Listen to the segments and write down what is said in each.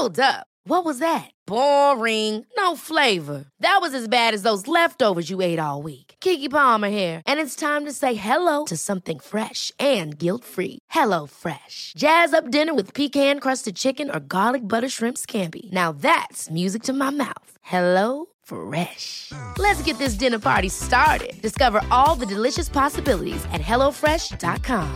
Hold up. What was that? Boring. No flavor. That was as bad as those leftovers you ate all week. Keke Palmer here, and it's time to say hello to something fresh and guilt-free. Hello Fresh. Jazz up dinner with pecan-crusted chicken or garlic butter shrimp scampi. Now that's music to my mouth. Hello Fresh. Let's get this dinner party started. Discover all the delicious possibilities at hellofresh.com.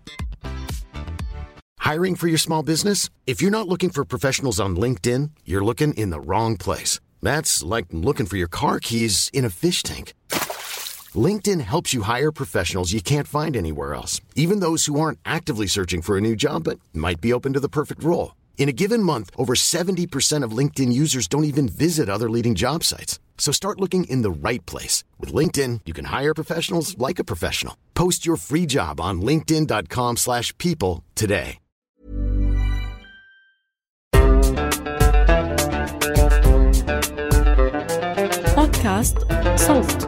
Hiring for your small business? If you're not looking for professionals on LinkedIn, you're looking in the wrong place. That's like looking for your car keys in a fish tank. LinkedIn helps you hire professionals you can't find anywhere else, even those who aren't actively searching for a new job but might be open to the perfect role. In a given month, over 70% of LinkedIn users don't even visit other leading job sites. So start looking in the right place. With LinkedIn, you can hire professionals like a professional. Post your free job on linkedin.com/people today. بودكاست صوت.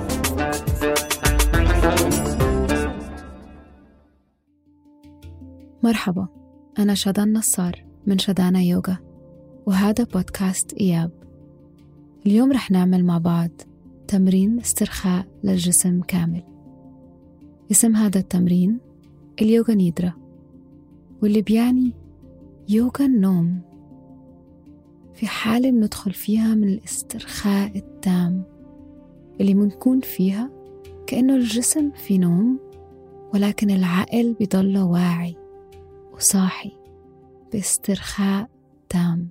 مرحبا، أنا شدان نصار من شدانا يوغا، وهذا بودكاست إياب. اليوم رح نعمل مع بعض تمرين استرخاء للجسم كامل. اسم هذا التمرين اليوغا نيدرا، واللي بيعني يوغا النوم، في حالة ندخل فيها من الاسترخاء التام اللي منكون فيها كأنه الجسم في نوم، ولكن العقل بيضله واعي وصاحي باسترخاء تام.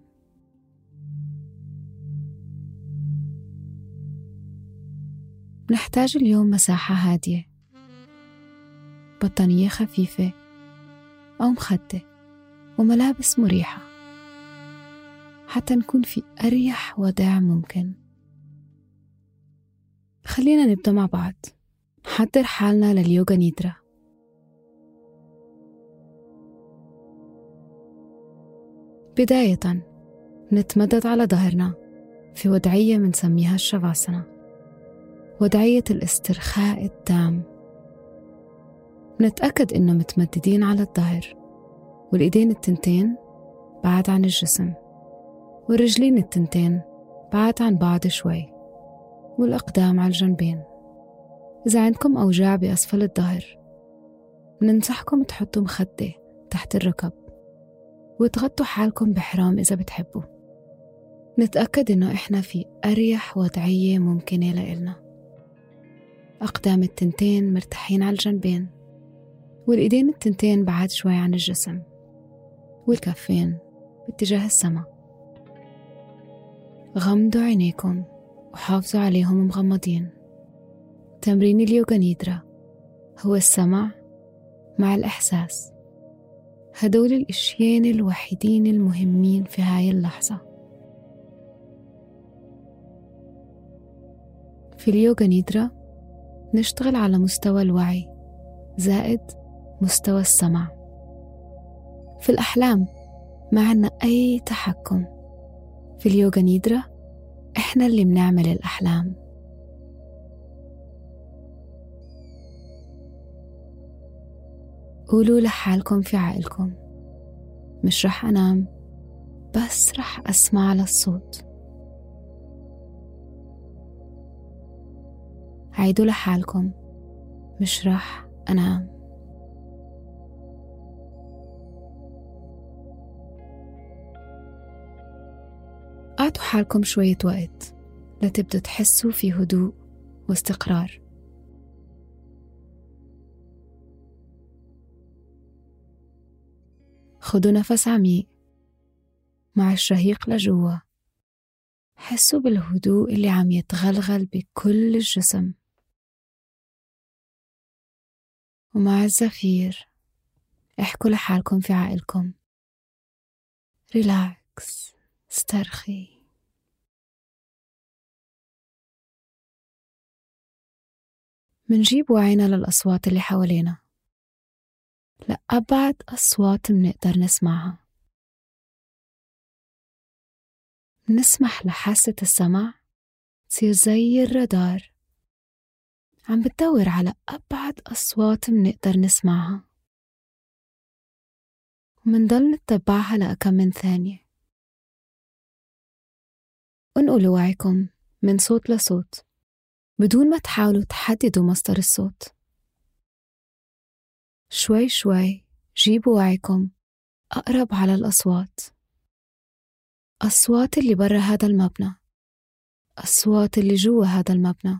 نحتاج اليوم مساحة هادية، بطانية خفيفة أو مخدة وملابس مريحة حتى نكون في أريح وضع ممكن. خلينا نبدأ مع بعض. نحضر حالنا لليوغا نيدرا. بداية نتمدد على ظهرنا في وضعية منسميها الشافاسانا، وضعية الاسترخاء التام. نتأكد إنه متمددين على الظهر، والإيدين التنتين بعد عن الجسم، والرجلين التنتين بعد عن بعض شوي، والأقدام على الجنبين. إذا عندكم أوجاع بأسفل الظهر، ننصحكم تحطوا مخدة تحت الركب وتغطوا حالكم بحرام إذا بتحبوا. نتأكد إنه إحنا في أريح وضعية ممكنة لإلنا. أقدام التنتين مرتاحين على الجنبين، والإيدين التنتين بعد شوي عن الجسم، والكفين باتجاه السماء. غمضوا عينيكم وحافظوا عليهم مغمضين. تمرين اليوغا نيدرا هو السمع مع الإحساس. هدول الإشيين الوحيدين المهمين في هاي اللحظة. في اليوغا نيدرا نشتغل على مستوى الوعي زائد مستوى السمع. في الأحلام ما عنا أي تحكم. في اليوغا نيدرا إحنا اللي بنعمل الأحلام. قولوا لحالكم في عقلكم: مش رح أنام، بس رح أسمع للصوت. عيدوا لحالكم: مش رح أنام. أعطوا حالكم شوية وقت لتبدوا تحسوا في هدوء واستقرار. خدوا نفس عميق مع الشهيق لجوا. حسوا بالهدوء اللي عم يتغلغل بكل الجسم، ومع الزفير احكوا لحالكم في عقلكم: ريلاكس، استرخي. منجيب وعينا للأصوات اللي حوالينا، لأبعد أصوات منقدر نسمعها. نسمح لحاسة السمع تصير زي الرادار، عم بتدور على أبعد أصوات منقدر نسمعها، ومنضل نتبعها لأكم من ثانية. انقلوا وعيكم من صوت لصوت بدون ما تحاولوا تحددوا مصدر الصوت. شوي شوي جيبوا وعيكم أقرب على الأصوات، أصوات اللي برا هذا المبنى، أصوات اللي جوا هذا المبنى.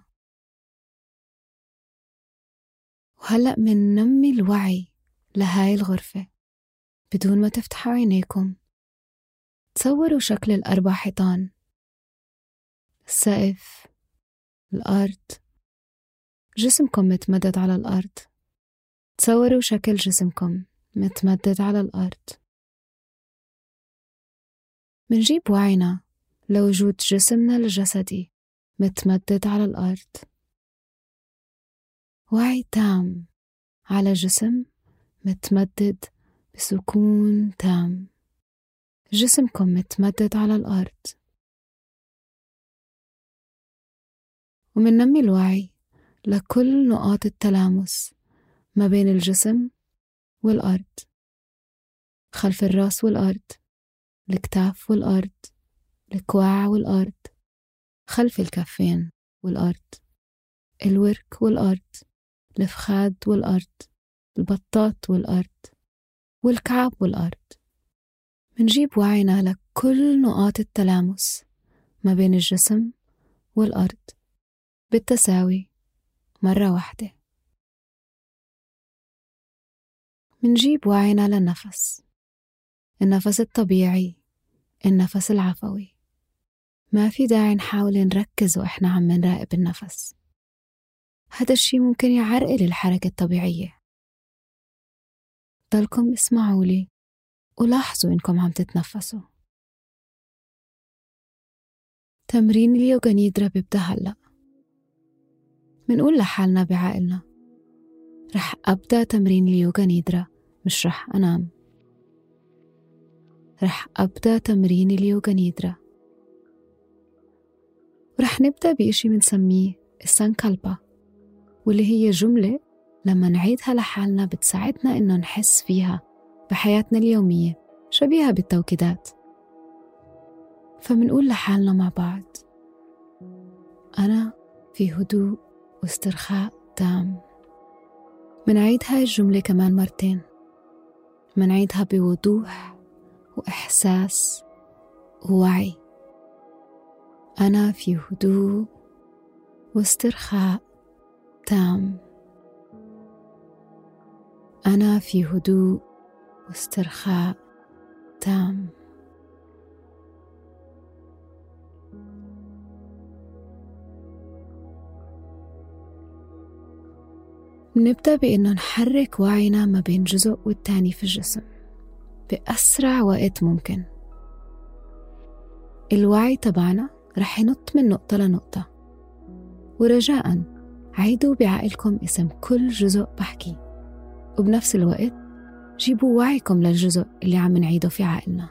وهلأ مننمي الوعي لهاي الغرفة بدون ما تفتحوا عينيكم. تصوروا شكل الأربع حيطان، السقف، الأرض، جسمكم متمدد على الأرض. تصوروا شكل جسمكم متمدد على الأرض. منجيب وعينا لوجود جسمنا الجسدي متمدد على الأرض، وعي تام على جسم متمدد بسكون تام. جسمكم متمدد على الأرض. ومننمي الوعي لكل نقاط التلامس ما بين الجسم والأرض، خلف الرأس والأرض، الكتاف والأرض، الكواع والأرض، خلف الكفين والأرض، الورك والأرض، الفخاد والأرض، البطاط والأرض، والكعب والأرض. منجيب وعينا لكل نقاط التلامس ما بين الجسم والأرض بالتساوي مرة واحدة. منجيب وعينا للنفس، النفس الطبيعي، النفس العفوي. ما في داعي نحاول نركز وإحنا عم نراقب النفس، هذا الشي ممكن يعرقل الحركة الطبيعية. ضلكم اسمعوا لي ولاحظوا إنكم عم تتنفسوا. تمرين اليوغا نيدرا بيبدأ هلأ. منقول لحالنا بعقلنا رح أبدأ تمرين اليوغا نيدرا، مش رح أنام. رح أبدأ تمرين اليوغا نيدرا، ورح نبدأ بإشي منسميه السانكالبا، واللي هي جملة لما نعيدها لحالنا بتساعدنا إنه نحس فيها بحياتنا اليومية، شبيهة بالتوكيدات. فمنقول لحالنا مع بعض: أنا في هدوء واسترخاء تام. منعيد هاي الجملة كمان مرتين، منعيدها بوضوح وإحساس ووعي. أنا في هدوء واسترخاء تام. أنا في هدوء واسترخاء تام. نبدأ بأنه نحرك وعينا ما بين جزء والتاني في الجسم بأسرع وقت ممكن. الوعي تبعنا رح ينط من نقطة لنقطة، ورجاءً عيدوا بعقلكم اسم كل جزء بحكي، وبنفس الوقت جيبوا وعيكم للجزء اللي عم نعيده في عقلنا.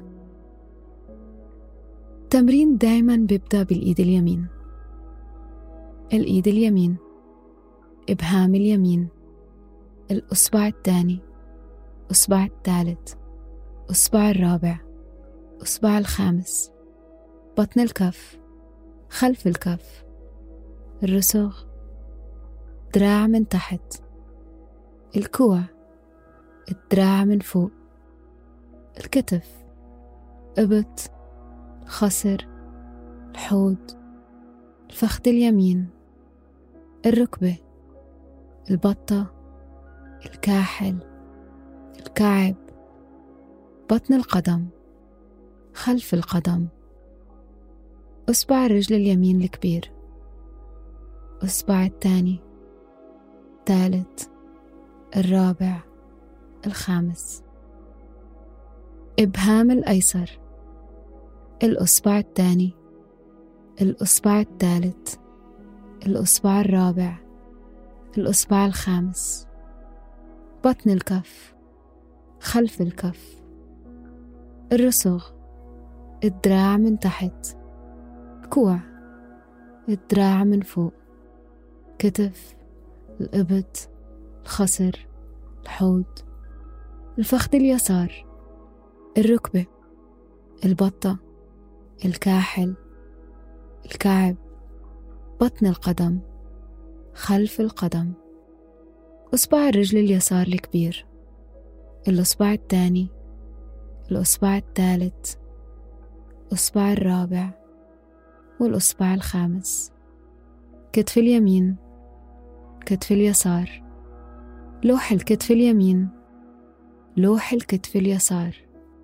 التمرين دايماً بيبدأ بالإيد اليمين. الإيد اليمين، إبهام اليمين، الأصبع الثاني، أصبع الثالث، أصبع الرابع، أصبع الخامس، بطن الكف، خلف الكف، الرسغ، دراع من تحت، الكوع، الدراع من فوق، الكتف، إبط، الخصر، الحوض، الفخذ اليمين، الركبة، البطة، الكاحل، الكعب، بطن القدم، خلف القدم، أصبع الرجل اليمين الكبير، أصبع الثاني، الثالث، الرابع، الخامس، إبهام الأيسر، الأصبع الثاني، الأصبع الثالث، الأصبع الرابع، الأصبع الخامس، بطن الكف، خلف الكف، الرسغ، الدراع من تحت، الكوع، الدراع من فوق، كتف، الإبط، الخصر، الحوض، الفخذ اليسار، الركبة، البطة، الكاحل، الكعب، بطن القدم، خلف القدم، أصبع الرجل اليسار الكبير، الأصبع الثاني، الأصبع الثالث، الأصبع الرابع، والأصبع الخامس، كتف اليمين، كتف اليسار، لوح الكتف اليمين، لوح الكتف اليسار،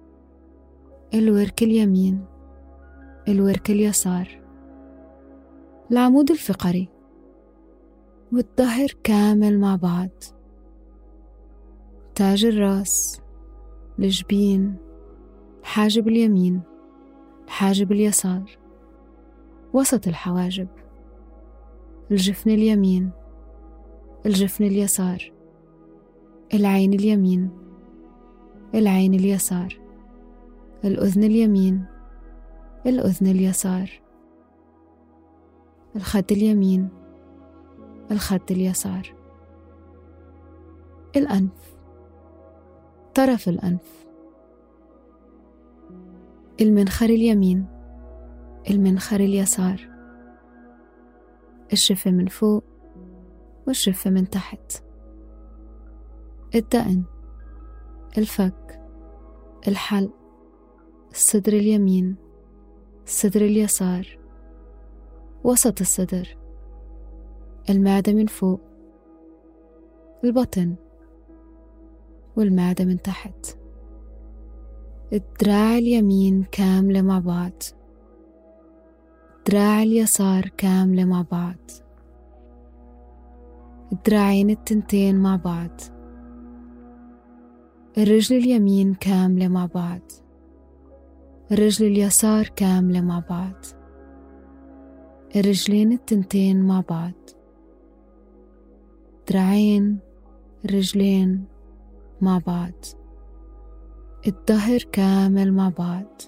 الورك اليمين، الورك اليسار، العمود الفقري، والظهر كامل مع بعض، تاج الراس، الجبين، الحاجب اليمين، الحاجب اليسار، وسط الحواجب، الجفن اليمين، الجفن اليسار، العين اليمين، العين اليسار، الأذن اليمين، الأذن اليسار، الخد اليمين، الخد اليسار، الأنف، طرف الأنف، المنخر اليمين، المنخر اليسار، الشفة من فوق والشفة من تحت، الدقن، الفك، الحلق، الصدر اليمين، الصدر اليسار، وسط الصدر، المعدة من فوق، البطن، والمعدة من تحت، الدراع اليمين كاملة مع بعض، الدراع اليسار كاملة مع بعض، الدراعين التنتين مع بعض، الرجل اليمين كاملة مع بعض، الرجل اليسار كاملة مع بعض، الرجلين التنتين مع بعض، دراعين، الرجلين مع بعض، الظهر كامل مع بعض،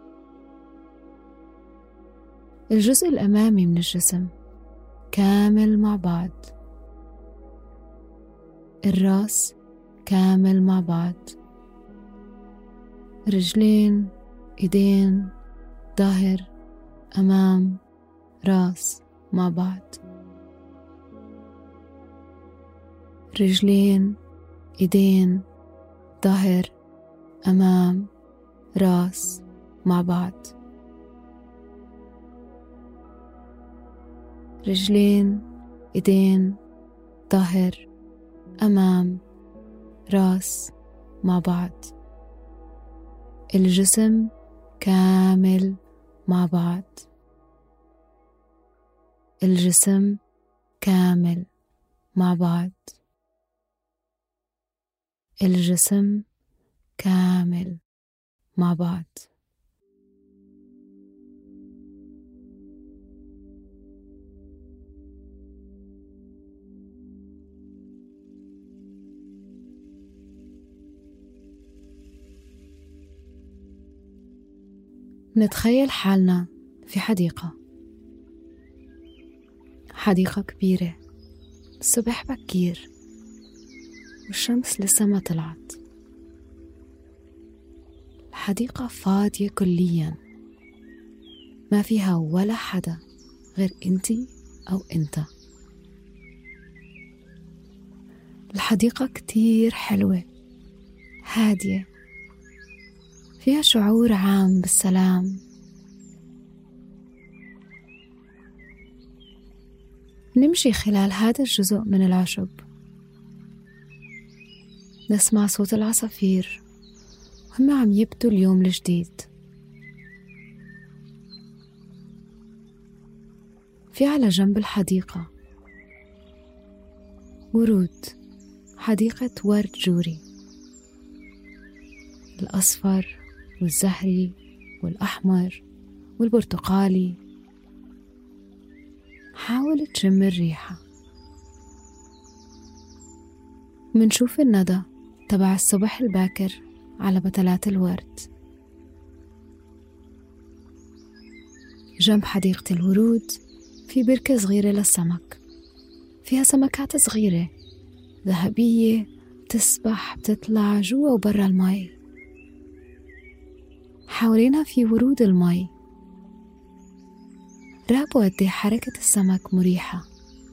الجزء الأمامي من الجسم كامل مع بعض، الراس كامل مع بعض، رجلين، ايدين، ظهر، أمام، راس مع بعض، رجلين، ايدين، ظهر، أمام، راس مع بعض، رجلين، ايدين، ظهر، أمام، راس مع بعض، الجسم كامل مع بعض، الجسم كامل مع بعض، الجسم كامل مع بعض. نتخيل حالنا في حديقة كبيرة، الصبح بكير والشمس لسه ما طلعت، الحديقة فاضية كليا، ما فيها ولا حدا غير انتي أو انت. الحديقة كتير حلوة، هادية، فيها شعور عام بالسلام. نمشي خلال هذا الجزء من العشب، نسمع صوت العصافير وهم عم يبدوا اليوم الجديد. في على جنب الحديقة ورود، حديقة ورد جوري، الأصفر والزهري والأحمر والبرتقالي. حاول تشم الريحة. منشوف الندى تبع الصبح الباكر على بتلات الورد. جنب حديقة الورود في بركة صغيرة للسمك، فيها سمكات صغيرة ذهبية بتسبح بتطلع جوا وبرا المي. حوالينها في ورود المي. راقبوا قد إيه حركة السمك مريحة.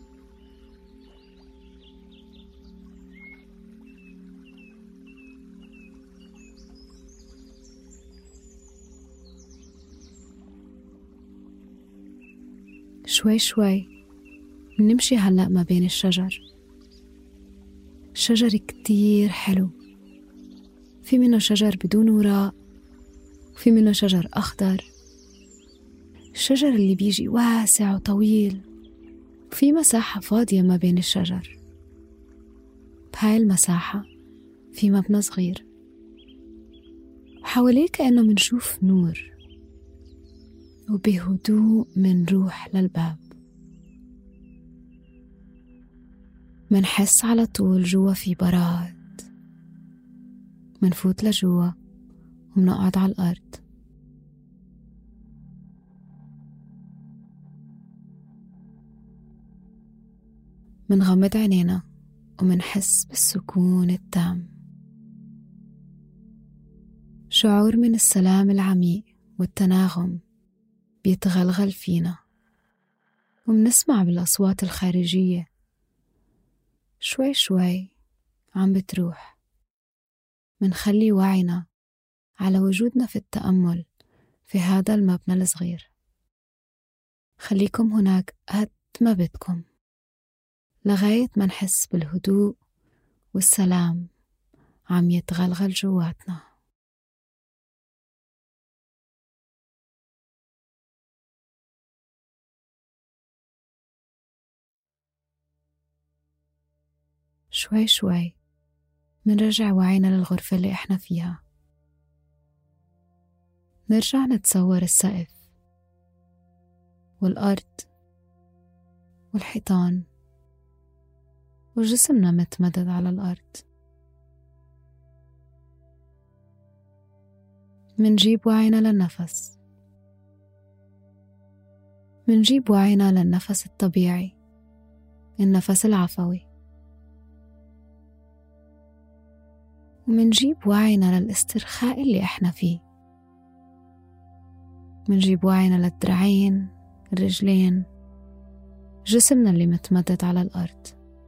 شوي شوي بنمشي هلأ ما بين الشجر. الشجر كتير حلو، في منه شجر بدون وراء وفي منه شجر أخضر. الشجر اللي بيجي واسع وطويل وفي مساحة فاضية ما بين الشجر. بهاي المساحة في مبنى صغير وحواليه كأنه منشوف نور، وبهدوء منروح للباب. منحس على طول جوا في براد، منفوت لجوا ومنقعد على الأرض. منغمض عينينا ومنحس بالسكون التام، شعور من السلام العميق والتناغم بيتغلغل فينا، ومنسمع بالأصوات الخارجية شوي شوي عم بتروح. منخلي وعينا على وجودنا في التأمل في هذا المبنى الصغير. خليكم هناك قد ما بدكم لغاية ما نحس بالهدوء والسلام عم يتغلغل جواتنا. شوي شوي منرجع وعينا للغرفة اللي احنا فيها. نرجع نتصور السقف والأرض والحيطان وجسمنا متمدد على الأرض. منجيب وعينا للنفس، منجيب وعينا للنفس الطبيعي، النفس العفوي، ومنجيب وعينا للاسترخاء اللي احنا فيه. منجيب وعينا للدراعين، الرجلين، جسمنا اللي متمدد على الأرض.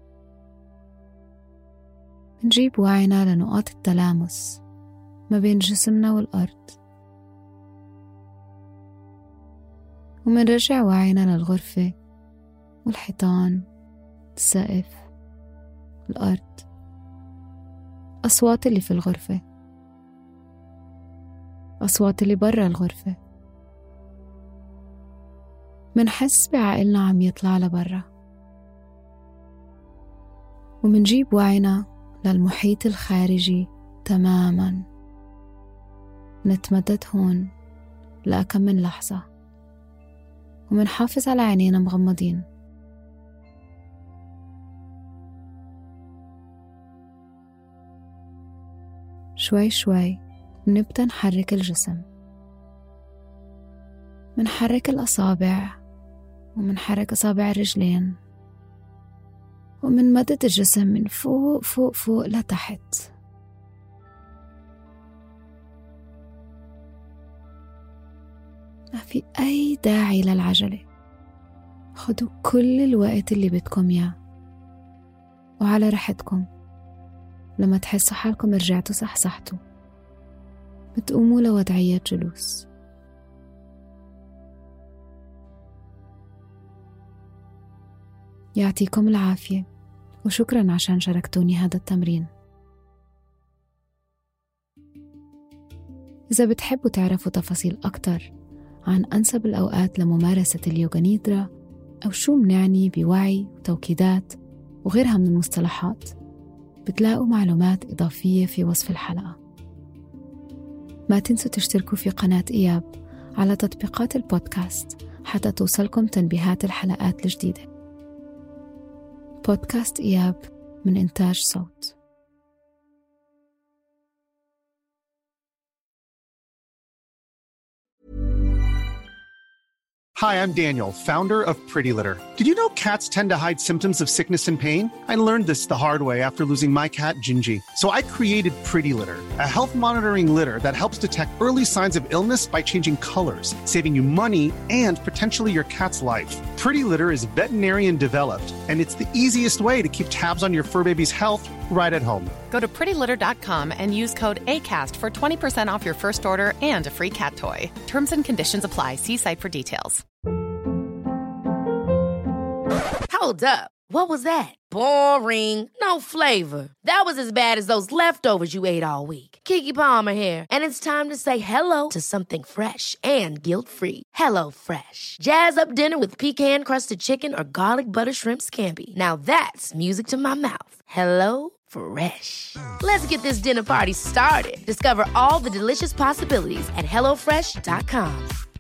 منجيب وعينا لنقاط التلامس ما بين جسمنا والأرض، ومنرجع وعينا للغرفة والحيطان، السقف، الأرض، أصوات اللي في الغرفة، أصوات اللي برا الغرفة. منحس بعقلنا عم يطلع لبرا، ومنجيب وعينا للمحيط الخارجي تماما. نتمدد هون لأكم من لحظة ومنحافظ على عينينا مغمضين. شوي شوي بنبدأ نحرك الجسم، منحرك الأصابع ومنحرك أصابع الرجلين، ومنمدد الجسم من فوق فوق فوق لتحت. ما في أي داعي للعجلة، خدوا كل الوقت اللي بدكم إياه وعلى راحتكم. لما تحسوا حالكم رجعتوا صحصحتوا بتقوموا لوضعية جلوس. يعطيكم العافية وشكرا عشان شاركتوني هذا التمرين. إذا بتحبوا تعرفوا تفاصيل أكتر عن أنسب الأوقات لممارسة اليوغا نيدرا أو شو منعني بوعي وتوكيدات وغيرها من المصطلحات، بتلاقوا معلومات إضافية في وصف الحلقة. ما تنسوا تشتركوا في قناة إياب على تطبيقات البودكاست حتى توصلكم تنبيهات الحلقات الجديدة. بودكاست إياب من إنتاج صوت. Hi, I'm Daniel, founder of Pretty Litter. Did you know cats tend to hide symptoms of sickness and pain? I learned this the hard way after losing my cat, Gingy. So I created Pretty Litter, a health monitoring litter that helps detect early signs of illness by changing colors, saving you money and potentially your cat's life. Pretty Litter is veterinarian developed, and it's the easiest way to keep tabs on your fur baby's health right at home. Go to prettylitter.com and use code ACAST for 20% off your first order and a free cat toy. Terms and conditions apply. See site for details. Hold up. What was that? Boring. No flavor. That was as bad as those leftovers you ate all week. Keke Palmer here, and it's time to say hello to something fresh and guilt-free. Hello Fresh. Jazz up dinner with pecan-crusted chicken or garlic butter shrimp scampi. Now that's music to my mouth. Hello Fresh. Let's get this dinner party started. Discover all the delicious possibilities at HelloFresh.com.